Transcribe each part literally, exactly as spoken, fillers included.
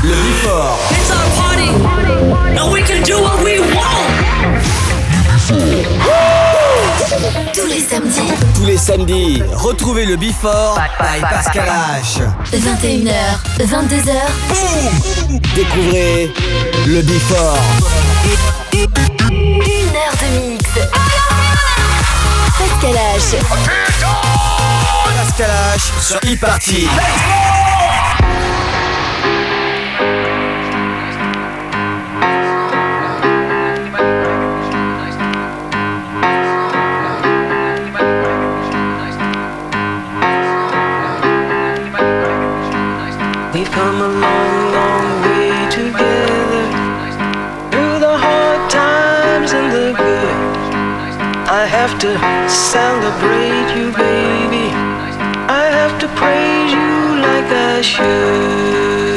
Le Before. It's our party, and we can do what we want. Tous les samedis. Tous les samedis, retrouvez le Before by Pascal H. vingt et une heures, vingt-deux heures. Boum. Découvrez le Before. Une heure de mix. Pascal H. Pascal H sur e-party. We've come a long, long way together, through the hard times and the good. I have to celebrate you, baby. I have to praise you like I should.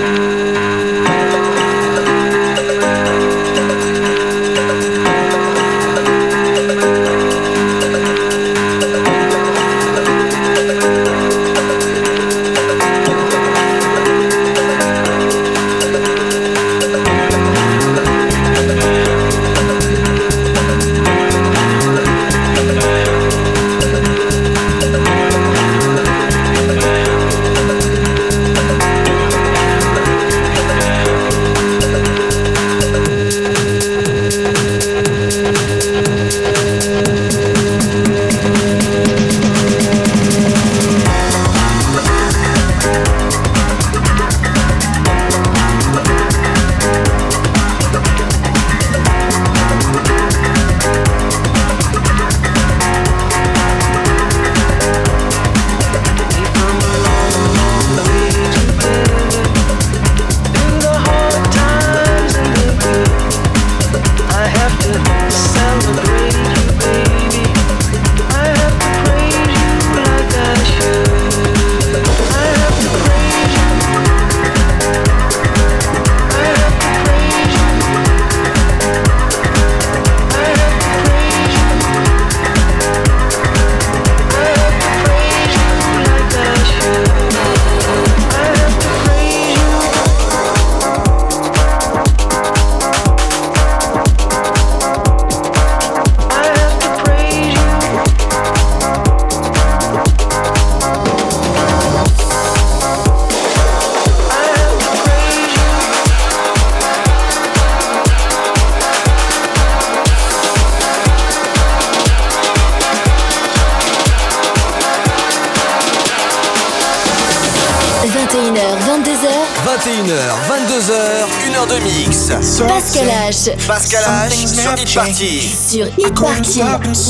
vingt et une heures, vingt-deux heures, une heure de mix. Pascal H. Pascal H sur e-party. Sur e-party.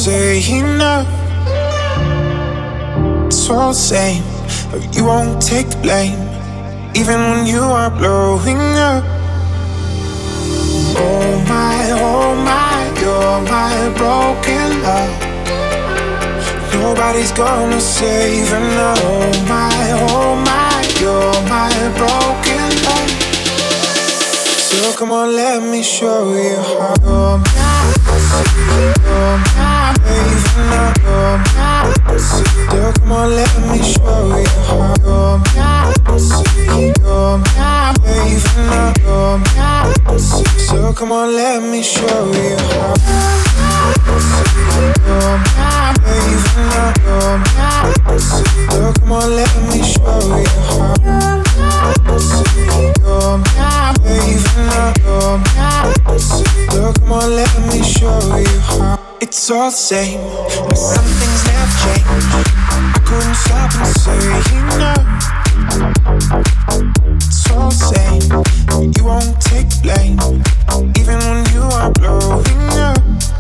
It's all the same, you won't take the blame, even when you are blowing up. Oh my, oh my, you're my broken love. Nobody's gonna save her now. Oh my, oh my, you're my broken love. So come on, let me show you how. You're my, you're my, baby, now you're my. So come on, let me show you how. You're my, you're my, baby, now you're my. So come on, let me show you how. You're my, baby, now you're my. So come on, let me show you how. You're my, baby, now you're my. So come on, let me show you how. It's all the same, but some things have changed. I couldn't stop and say no. It's all the same, you won't take blame, even when you are blowing up.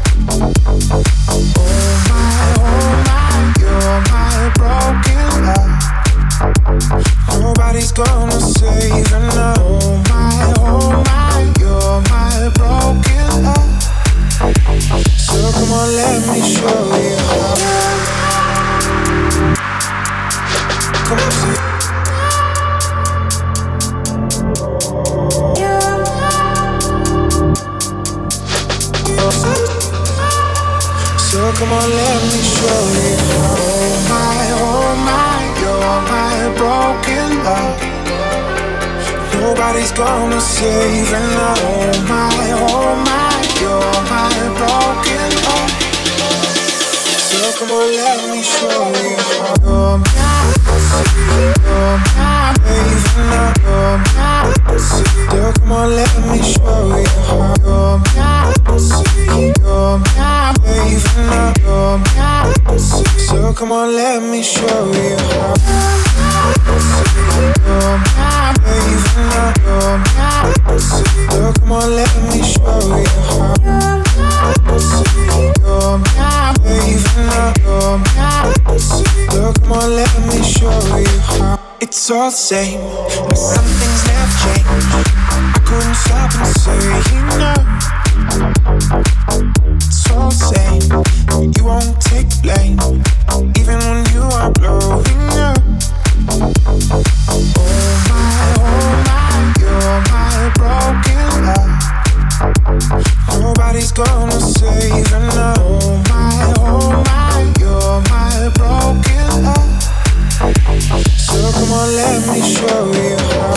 Oh my, oh my, you're my broken love. Nobody's gonna save her now. Oh my, oh my, you're my broken love. So come on, let me show you how. Come on, see. So come on, let me show you how. Oh my, oh my, you're my broken love. Nobody's gonna save and oh my, oh my, you're my broken heart. So come on, let me show you how you're mine, you're mine, baby, now you're mine. So come on, let me show you how you're mine, you're mine, baby, now you're mine. So come on, let me show you how you're mine, baby, now you're mine. So come on, let me show you how you're mine, baby, now you're mine. So come on, let me show you how. It's all the same, but some things never change. I couldn't stop and say no. It's all the same, you won't take blame, even when you are blowing up. Oh my, oh my, you're my broken heart. Nobody's gonna save and oh my, oh my, you're my broken heart. So come on, let me show you how.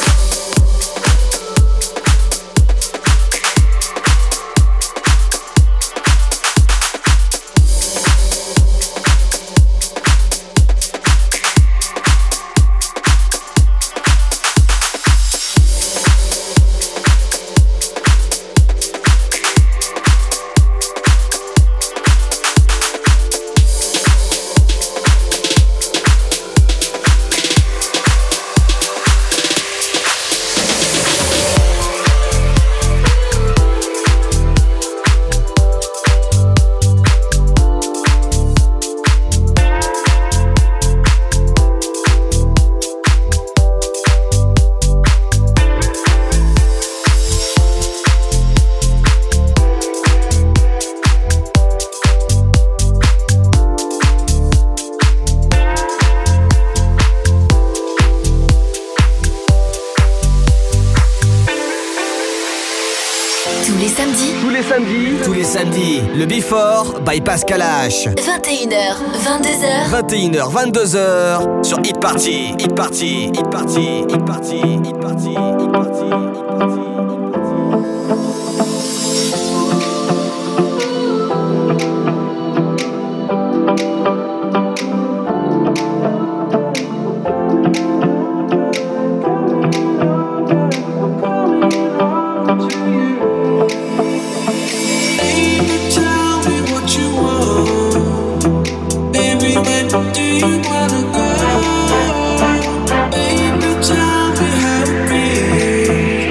Le Before by Pascal H. vingt et une heures, vingt-deux heures. vingt et une heures, vingt-deux heures sur Hit Party. Hit Party, Hit Party, Hit Party, Hit Party, Hit Party, Hit Party. Do you wanna go? Baby, tell me how it feels.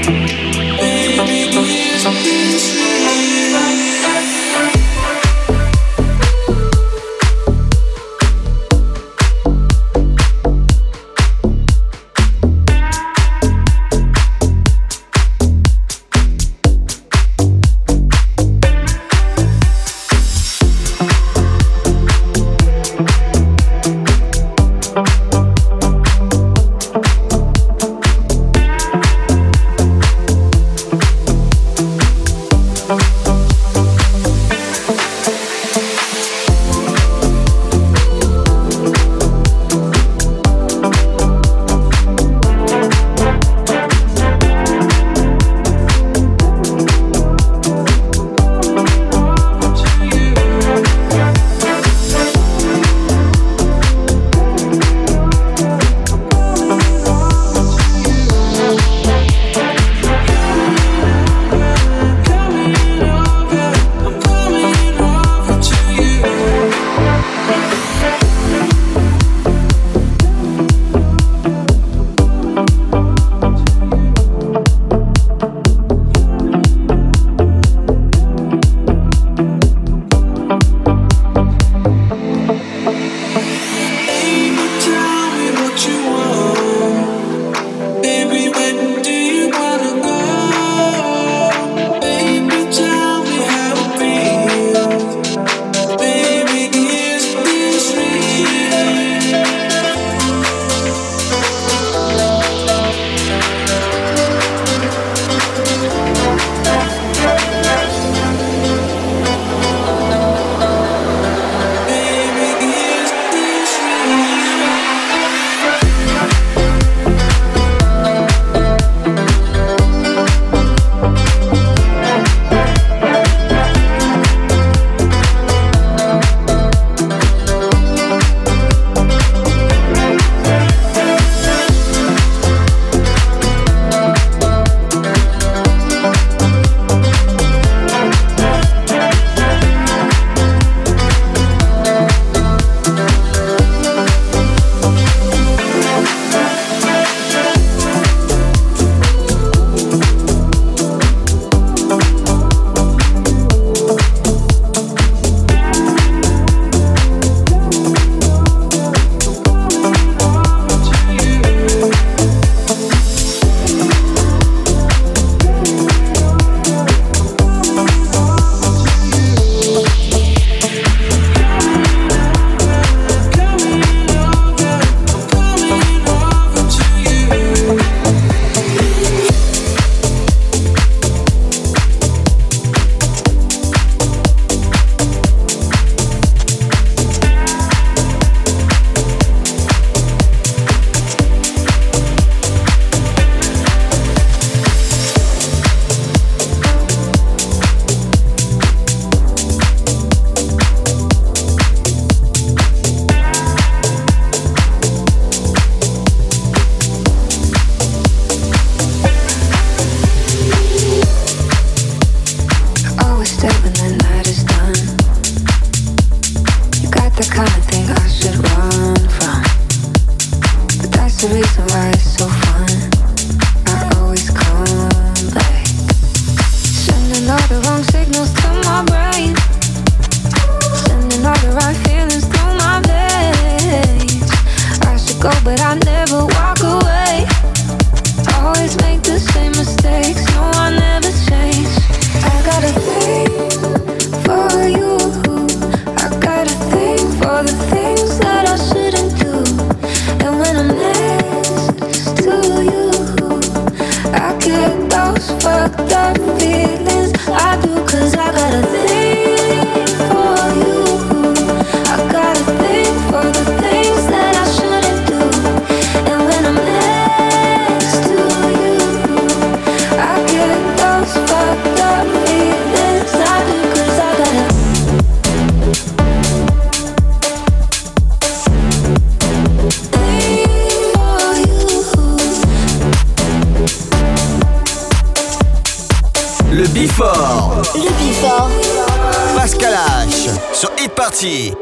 Le Before. Le Before. Pascal H sur Hit Party.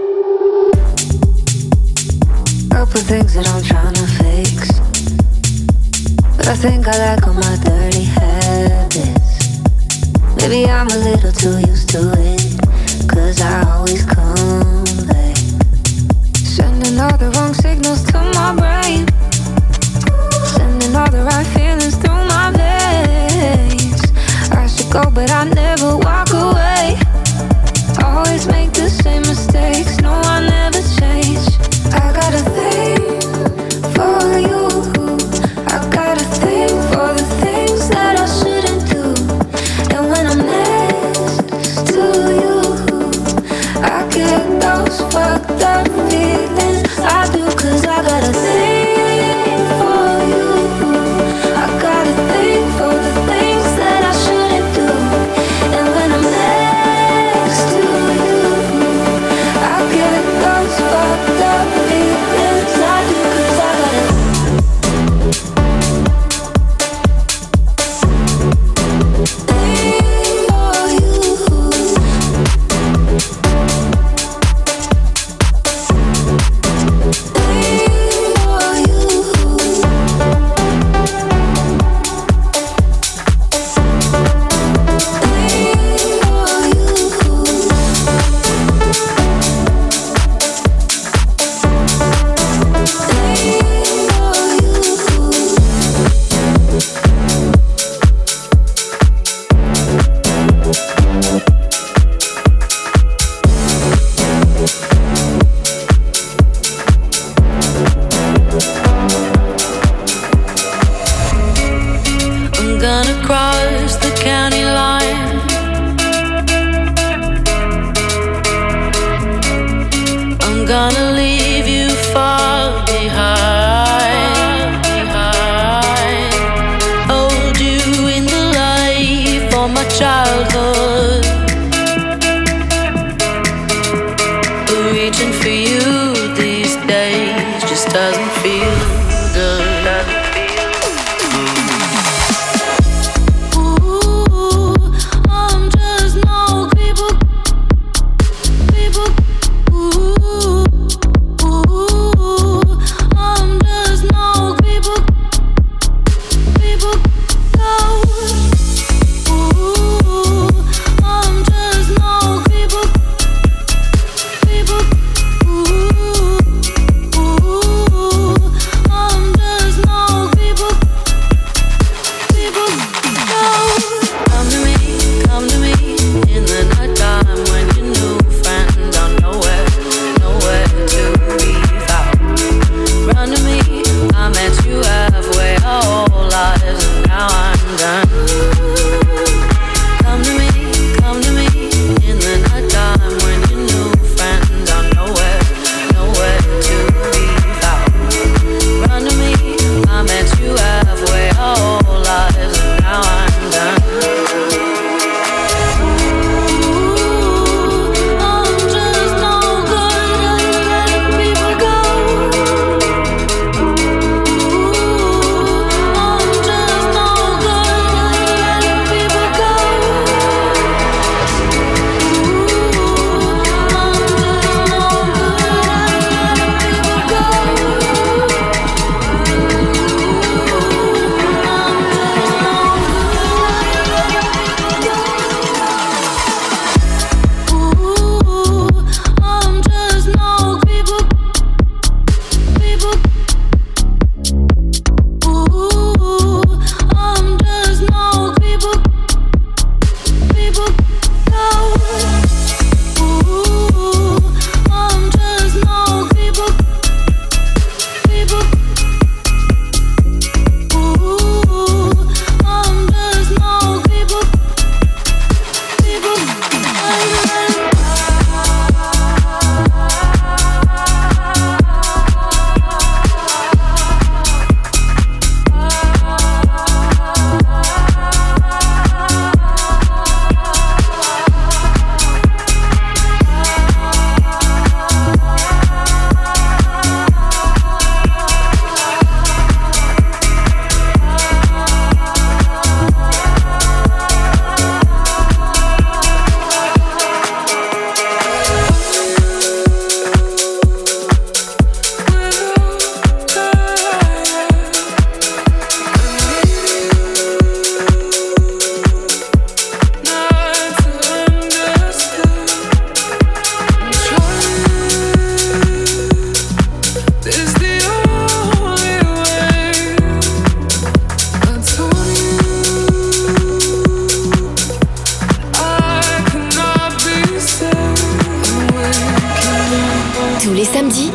Couple things that I'm trying to fix, but I think I like all my dirty habits. Maybe I'm a little too used to it, cause I always come back, sending all the wrong signals to my brain, sending all the right feelings through my veins. I should go but I never walk away, always make the same mistakes, no I never change. I got a thing for you, I got a thing for the things that I shouldn't do, and when I'm next to you, I get those fucked up feelings. I do, cause I got a thing for you, I got a thing for the things that I shouldn't do, and when I'm next to you, I get those fucked up feelings. I do, cause I got a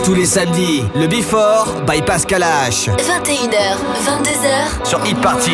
Tous les samedis, le Before by Pascal H. vingt et une heures, vingt-deux heures sur Hit Party.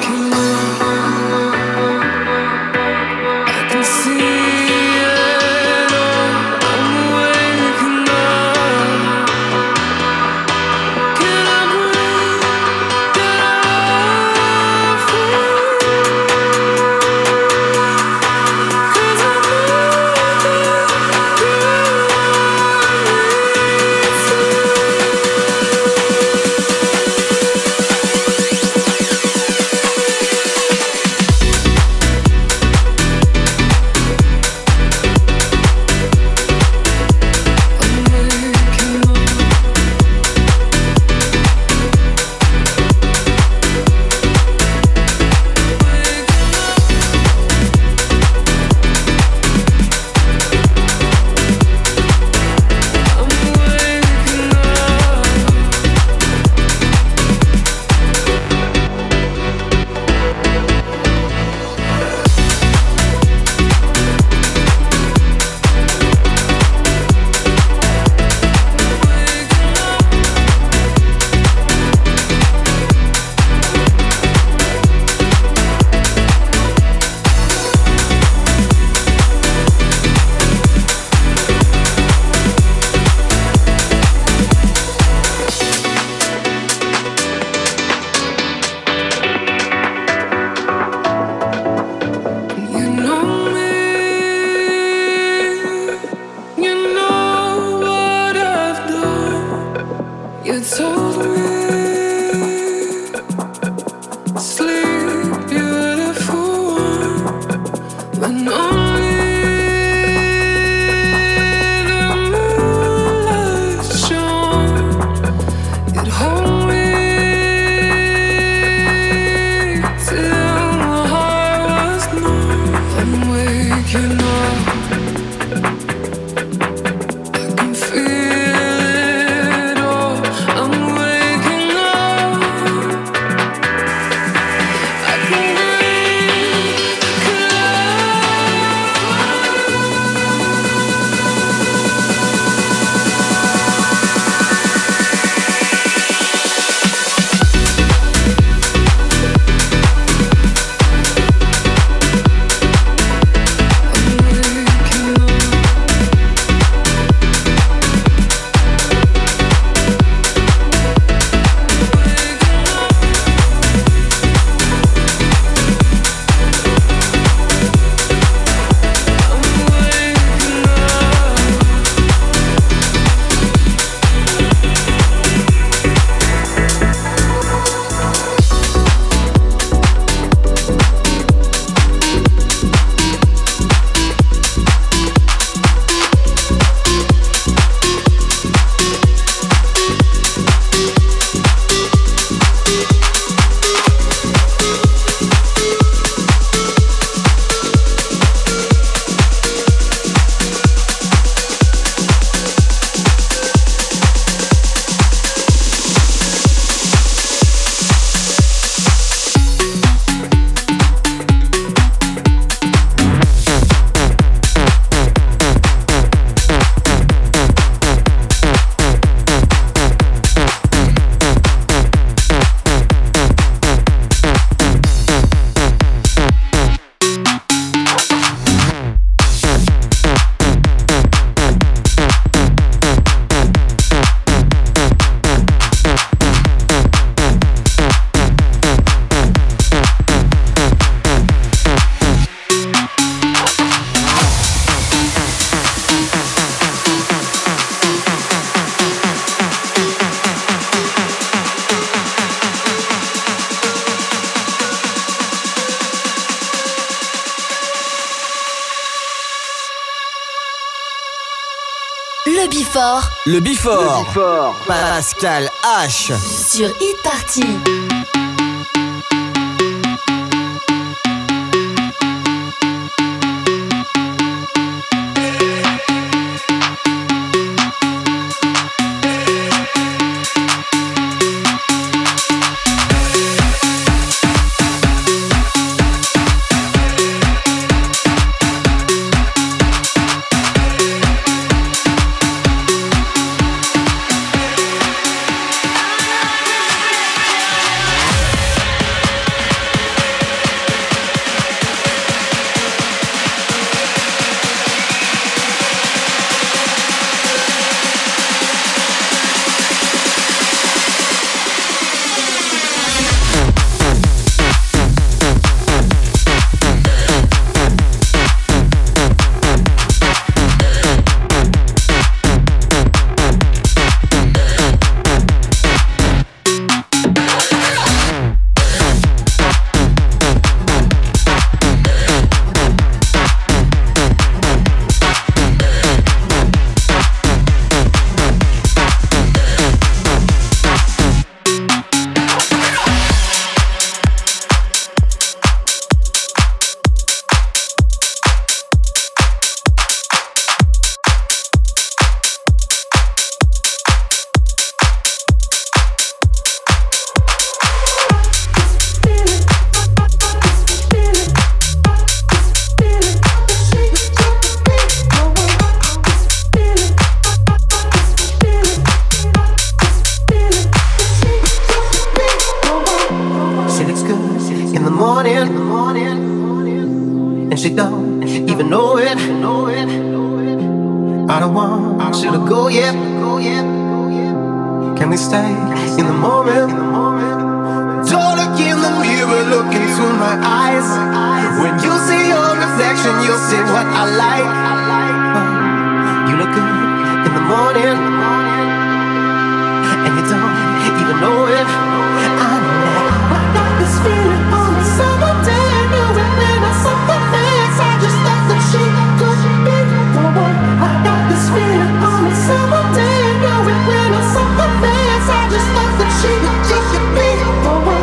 Le Before. Le Before. Le Before. Pascal H. Sur Hit Party. feels good in the morning, and she don't even know it. I don't want you to go yet. Can we stay in the moment? Don't look in the mirror, look into my eyes. When you see your reflection, you'll see what I like. You look good in the morning, and you don't even know it. I know that. I got this feeling on a summer day. Knew it when I saw her face. I just thought that she could be the one. I got this feeling on a summer day. Knew it when I saw her face. I just thought that she could be the one.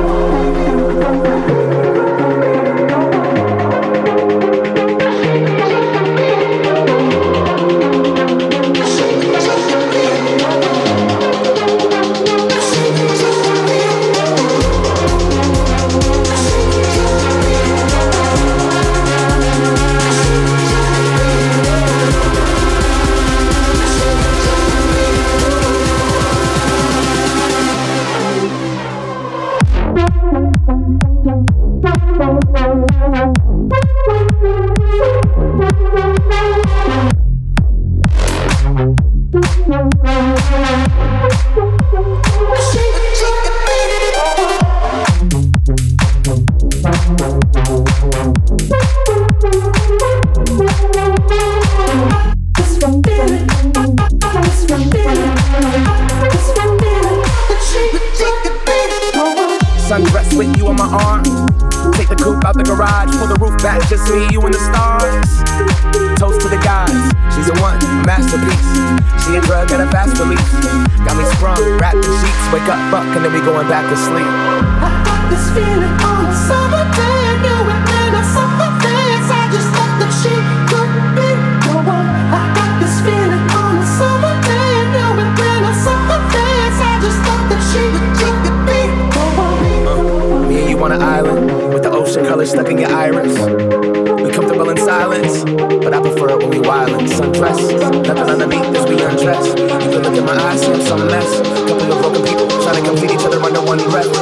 Sundress with you on my arm. Take the coupe out the garage. Pull the roof back, just me, you and the stars. Toast to the guys. She's a one, a masterpiece. She a drug and a fast release. Got me sprung, wrapped in sheets. Wake up, fuck, and then we going back to sleep. I got this feeling on a summer day. Knew it when I saw her face. I just thought that she could be the one. I got this feeling on a summer day. Knew it when I saw her face. I just thought that she could be the one. Uh, me and you on an island with the ocean color stuck in your iris. We comfortable in silence, but I prefer it when we wildin'. Sundress, nothing underneath as we undress. You can look in my eyes, see I'm some mess. Couple of broken people trying to complete each other under one breath.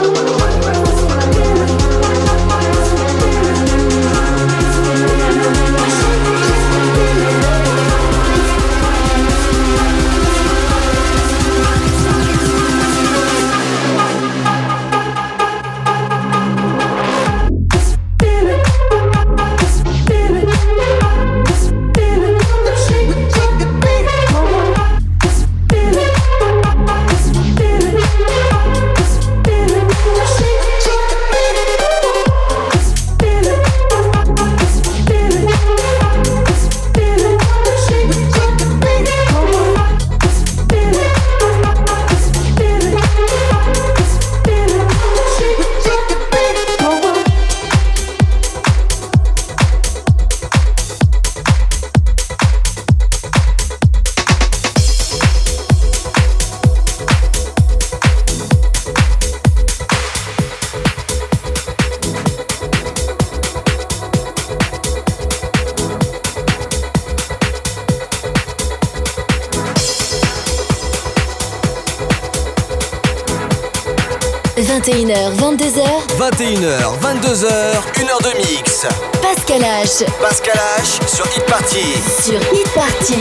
vingt et une heures, vingt-deux heures. vingt et une heures, vingt-deux heures, une heure de mix. Pascal H. Pascal H sur Hit Party. Sur Hit Party.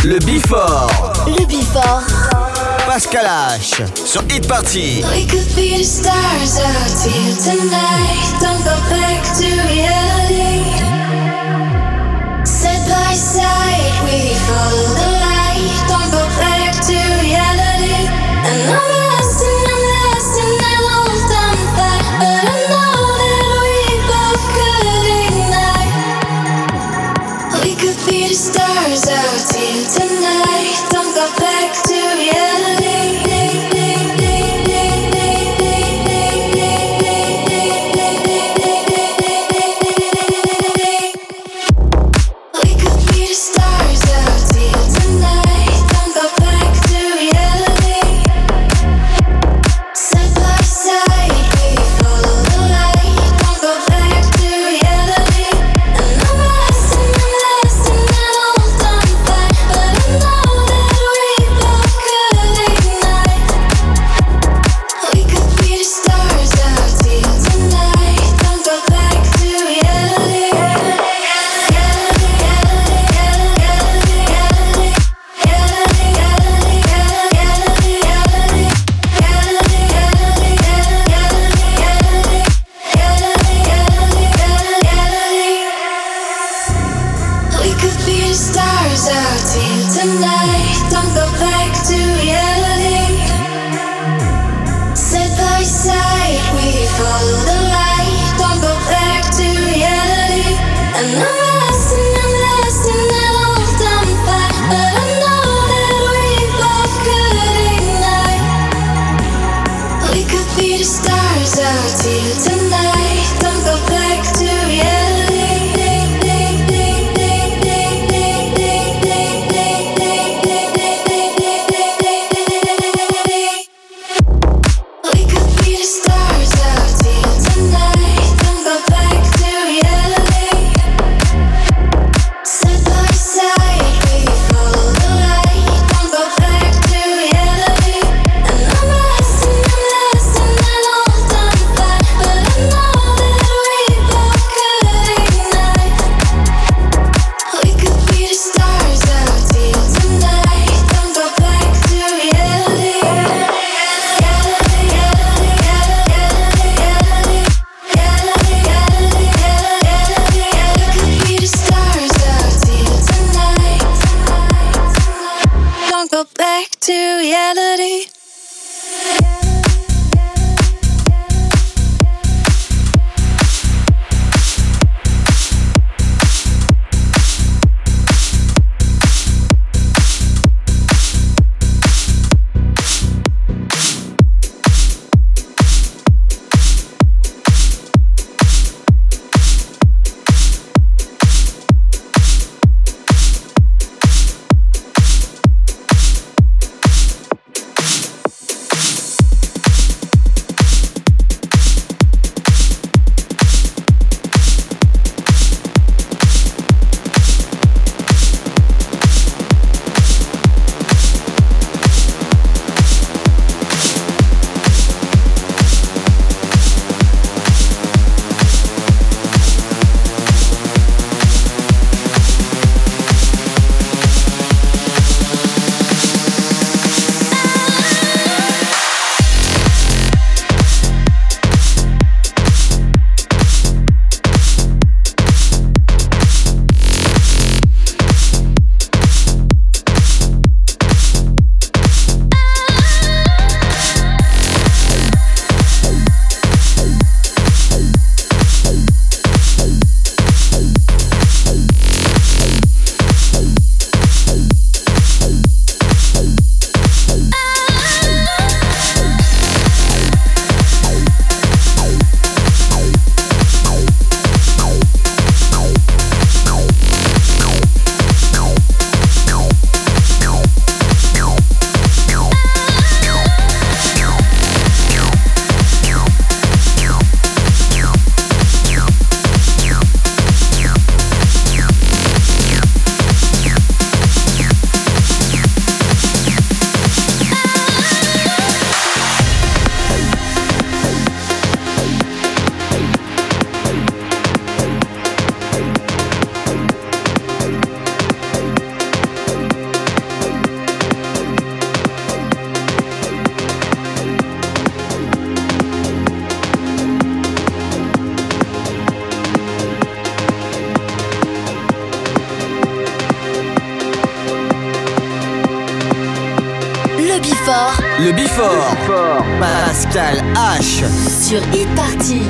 Le Before. Le Before. Pascal H sur Hit Party. We could be the stars out here tonight. Don't go back to reality. Side by side, we follow the light. Don't go back to reality. And I'm lost and I'm lost and I lost on fire. But I know that we both could ignite. We could be the stars out here tonight. Don't go back to reality. Stars out here. Before. Le Before. Pascal H. Sur Hit Party.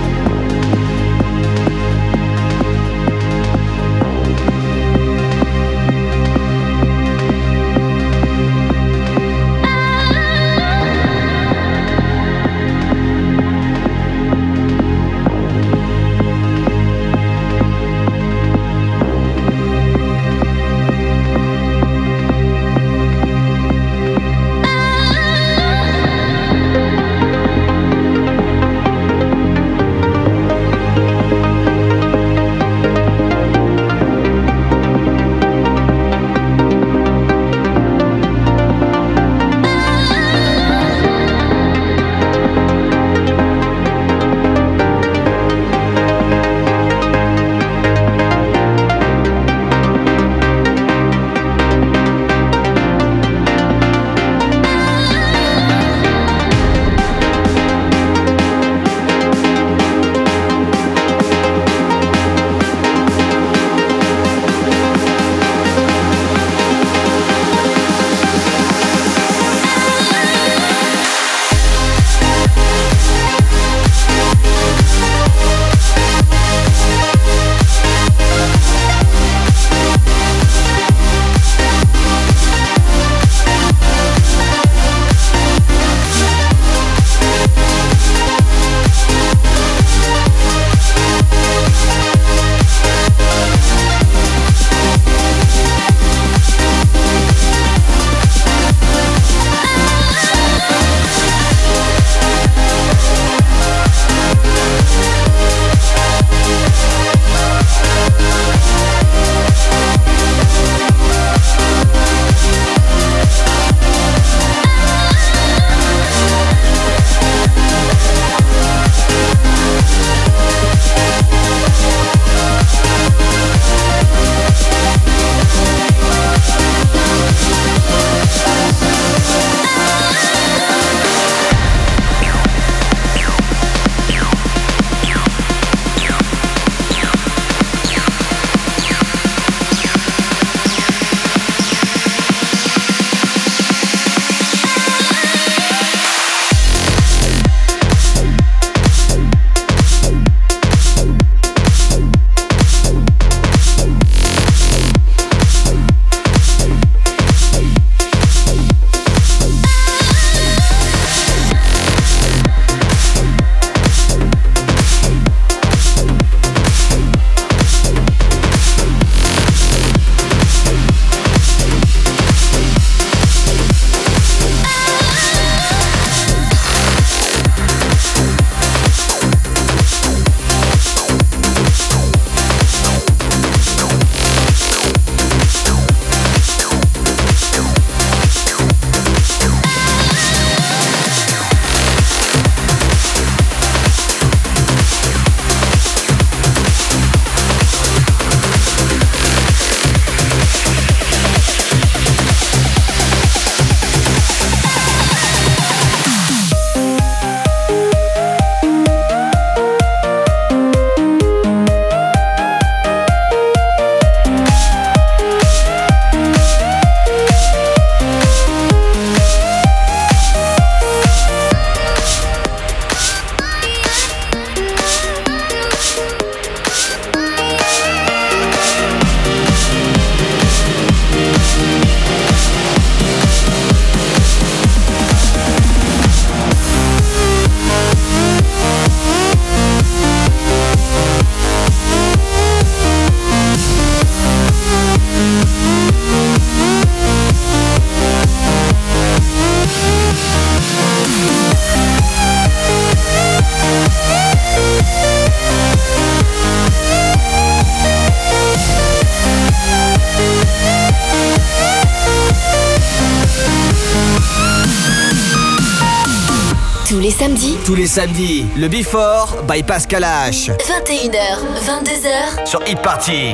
Tous les samedis. Tous les samedis, le Before by Pascal H. vingt et une heures, vingt-deux heures. Sur Hit Party.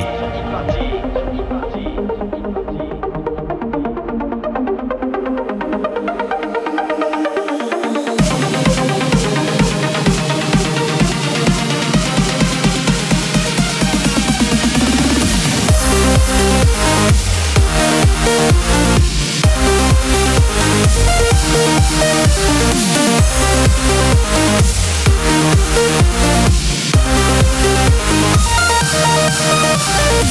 We'll be right back.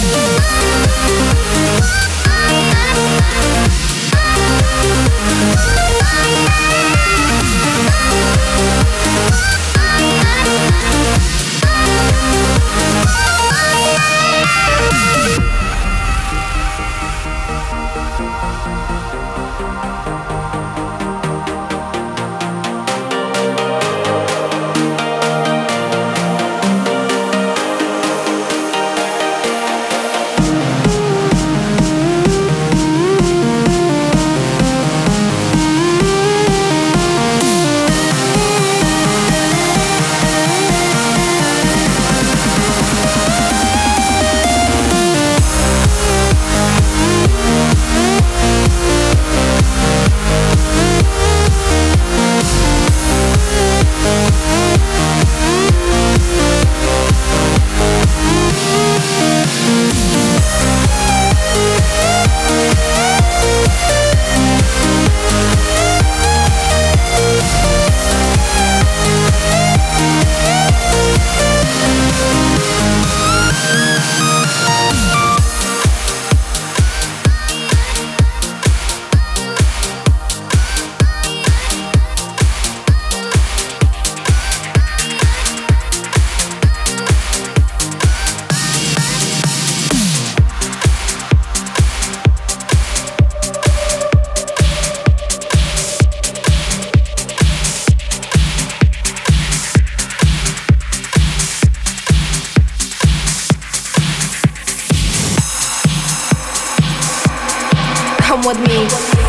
Come with me.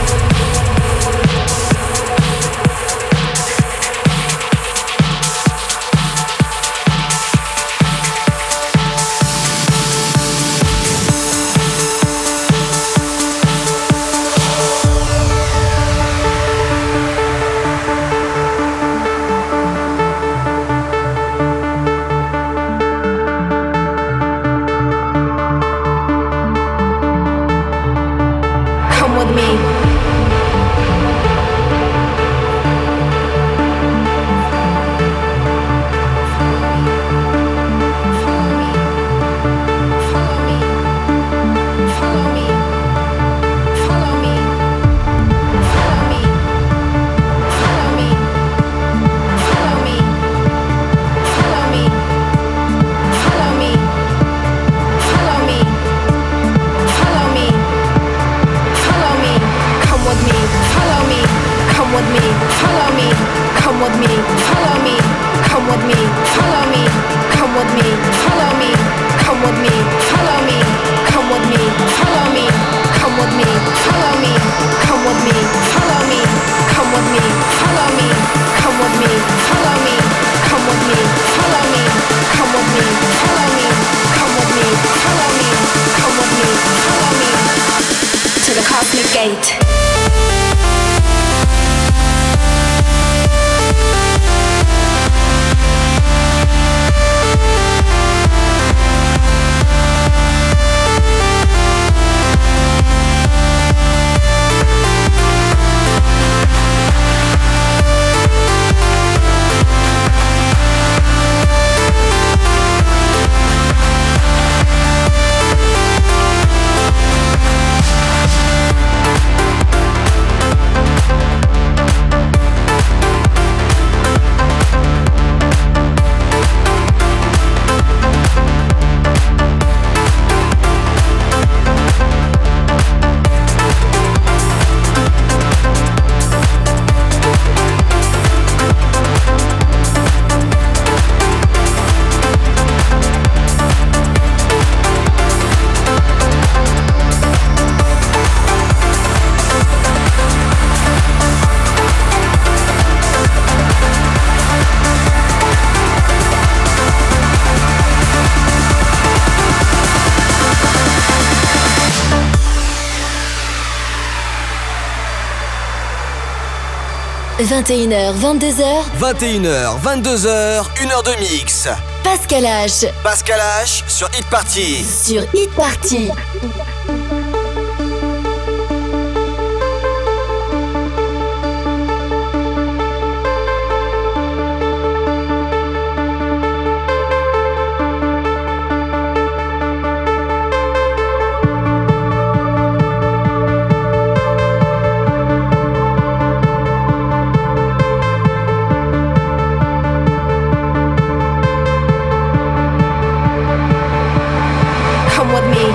vingt et une heures, vingt-deux heures. vingt et une heures, vingt-deux heures, une heure de mix. Pascal H. Pascal H sur Hit Party. Sur Hit Party. come with me.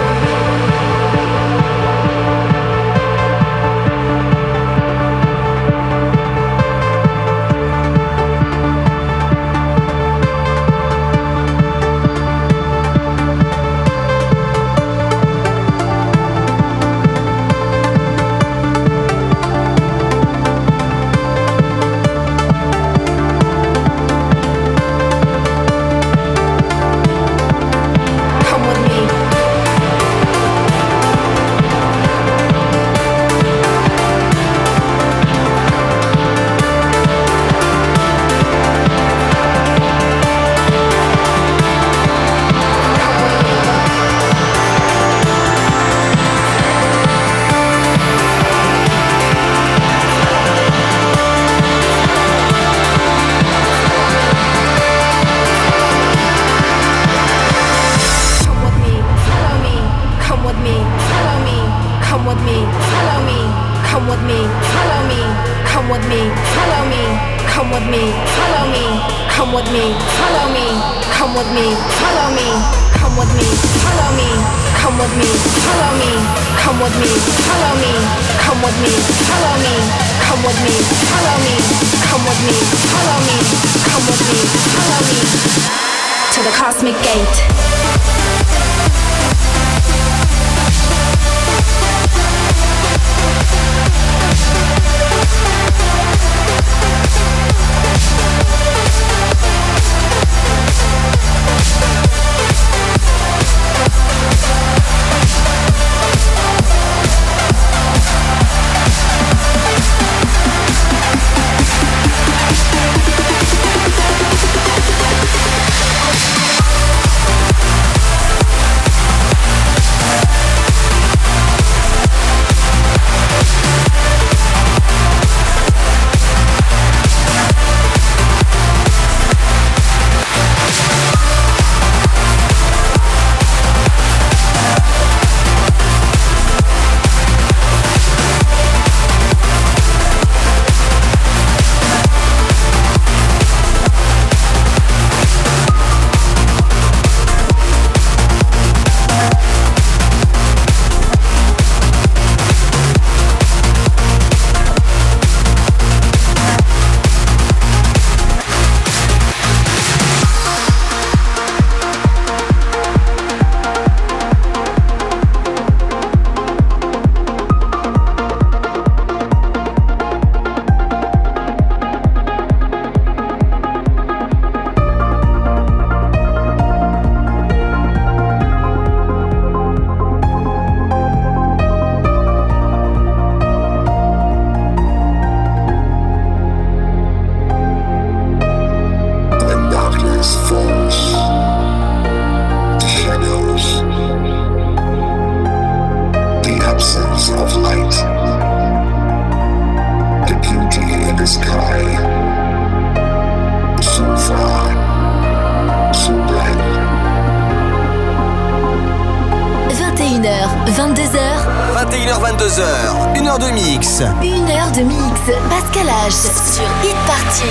Une heure de mix. Pascal H sur Hit Party.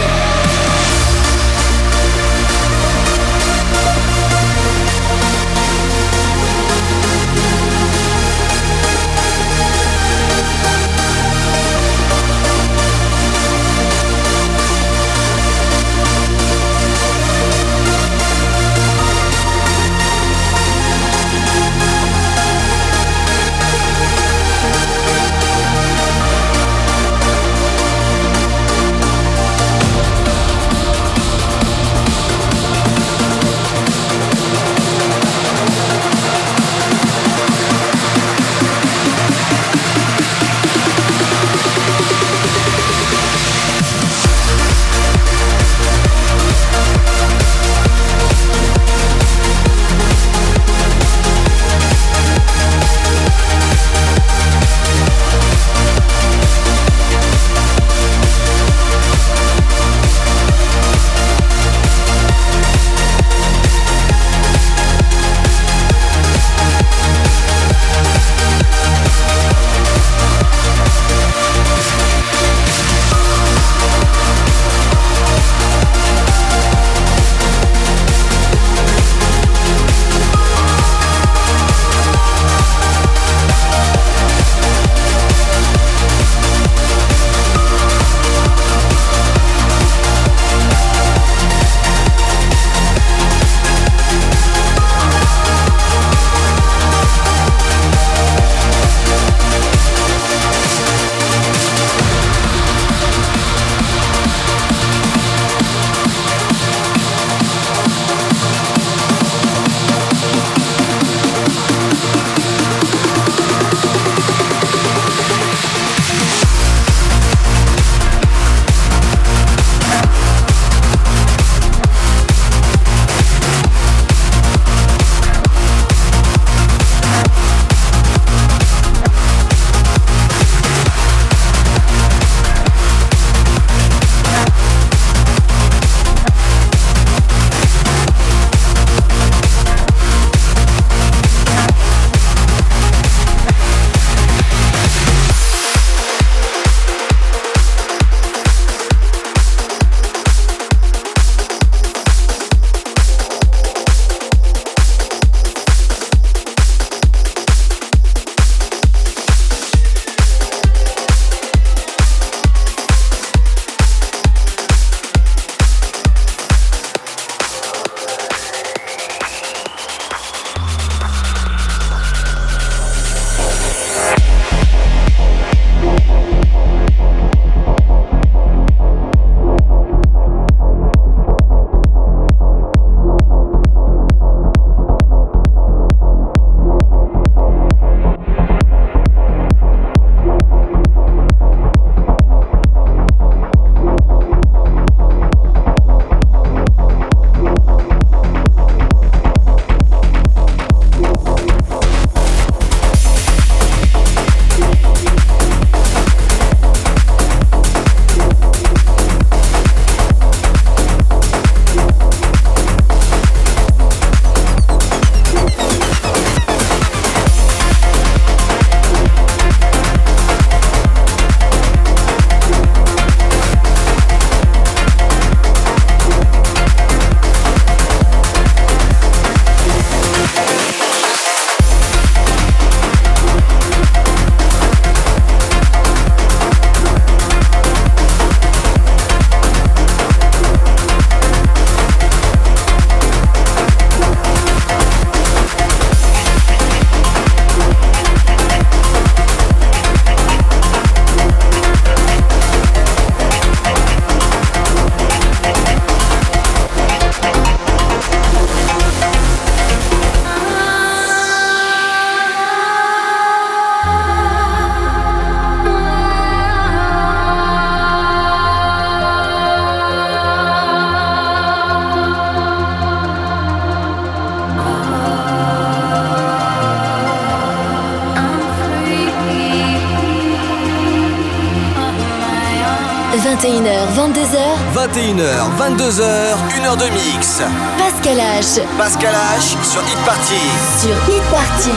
vingt et une heures, vingt-deux heures. vingt et une heures, vingt-deux heures, une heure de mix. Pascal H. Pascal H sur Hit Party. Sur Hit Party.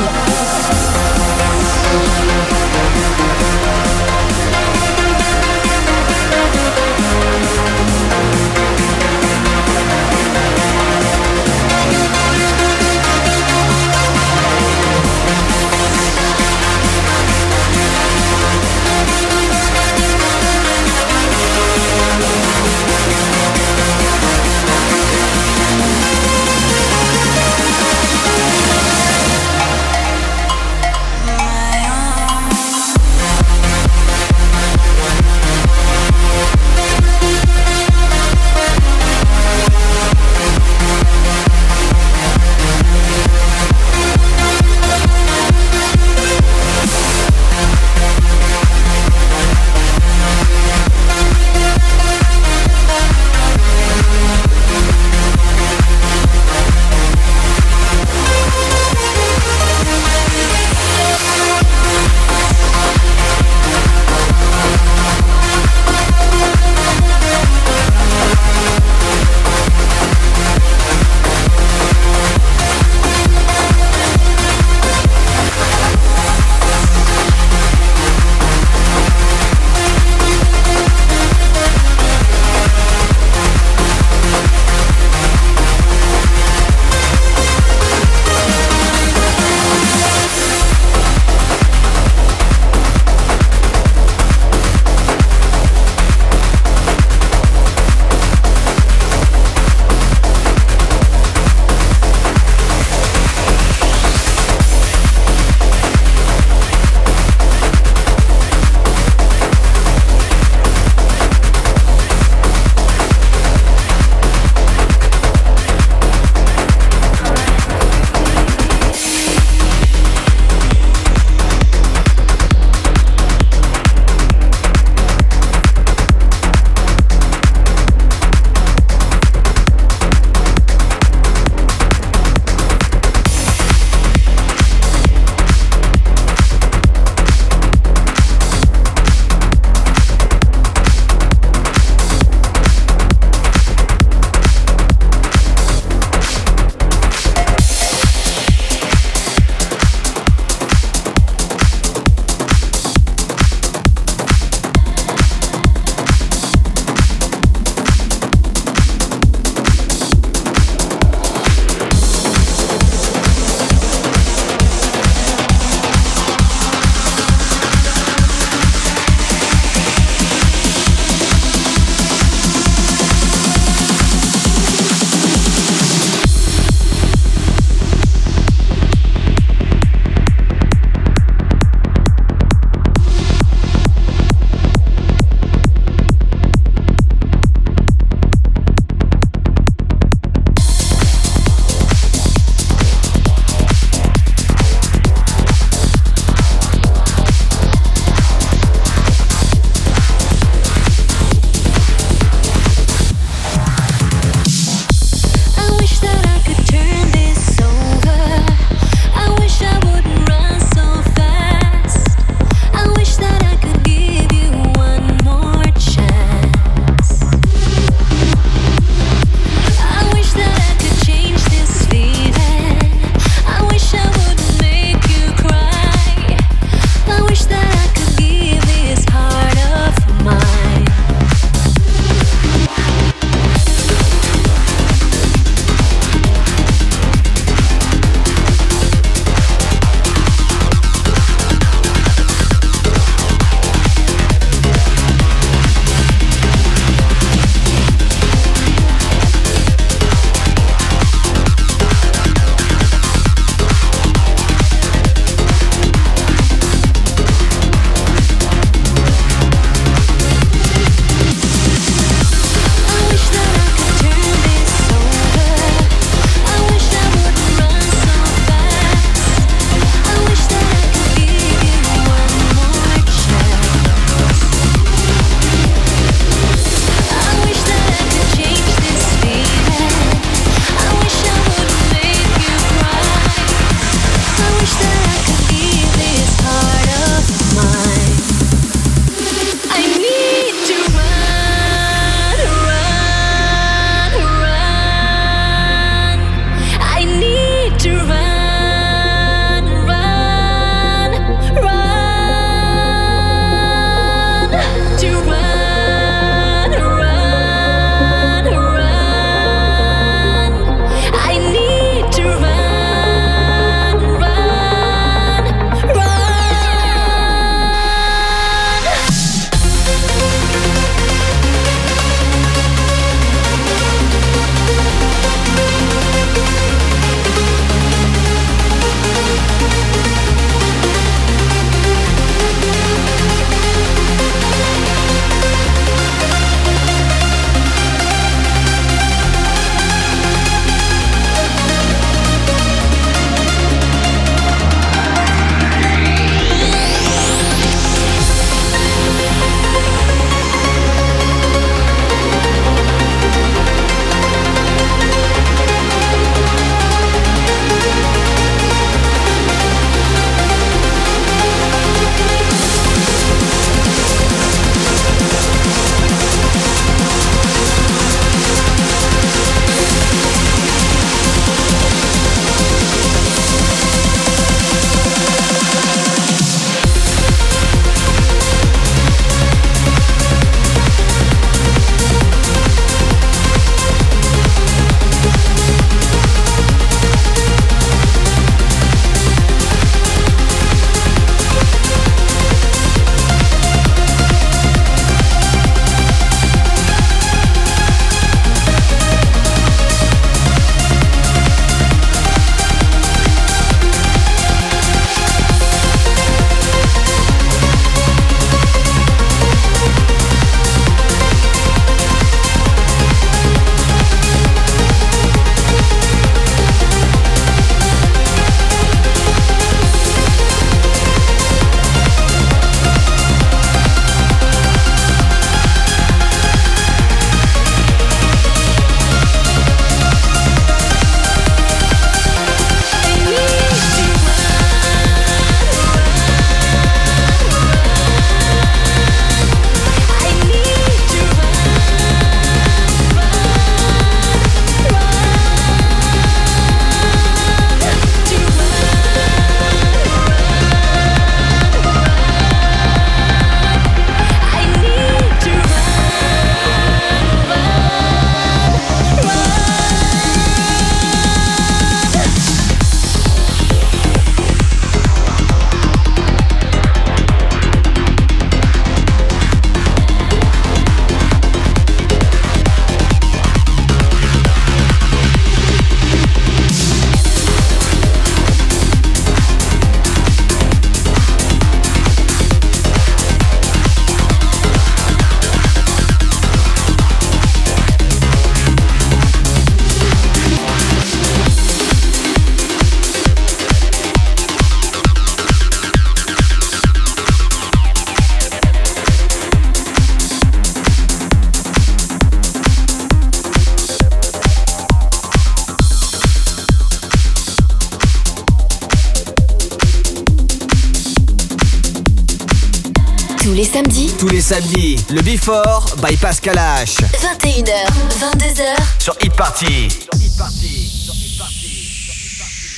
Tous les samedis. Tous les samedis, le Before by Pascal H. vingt et une heures, vingt-deux heures. Sur Hit Party. Sur Hit Party. Sur Hit Party. Sur Hit Party.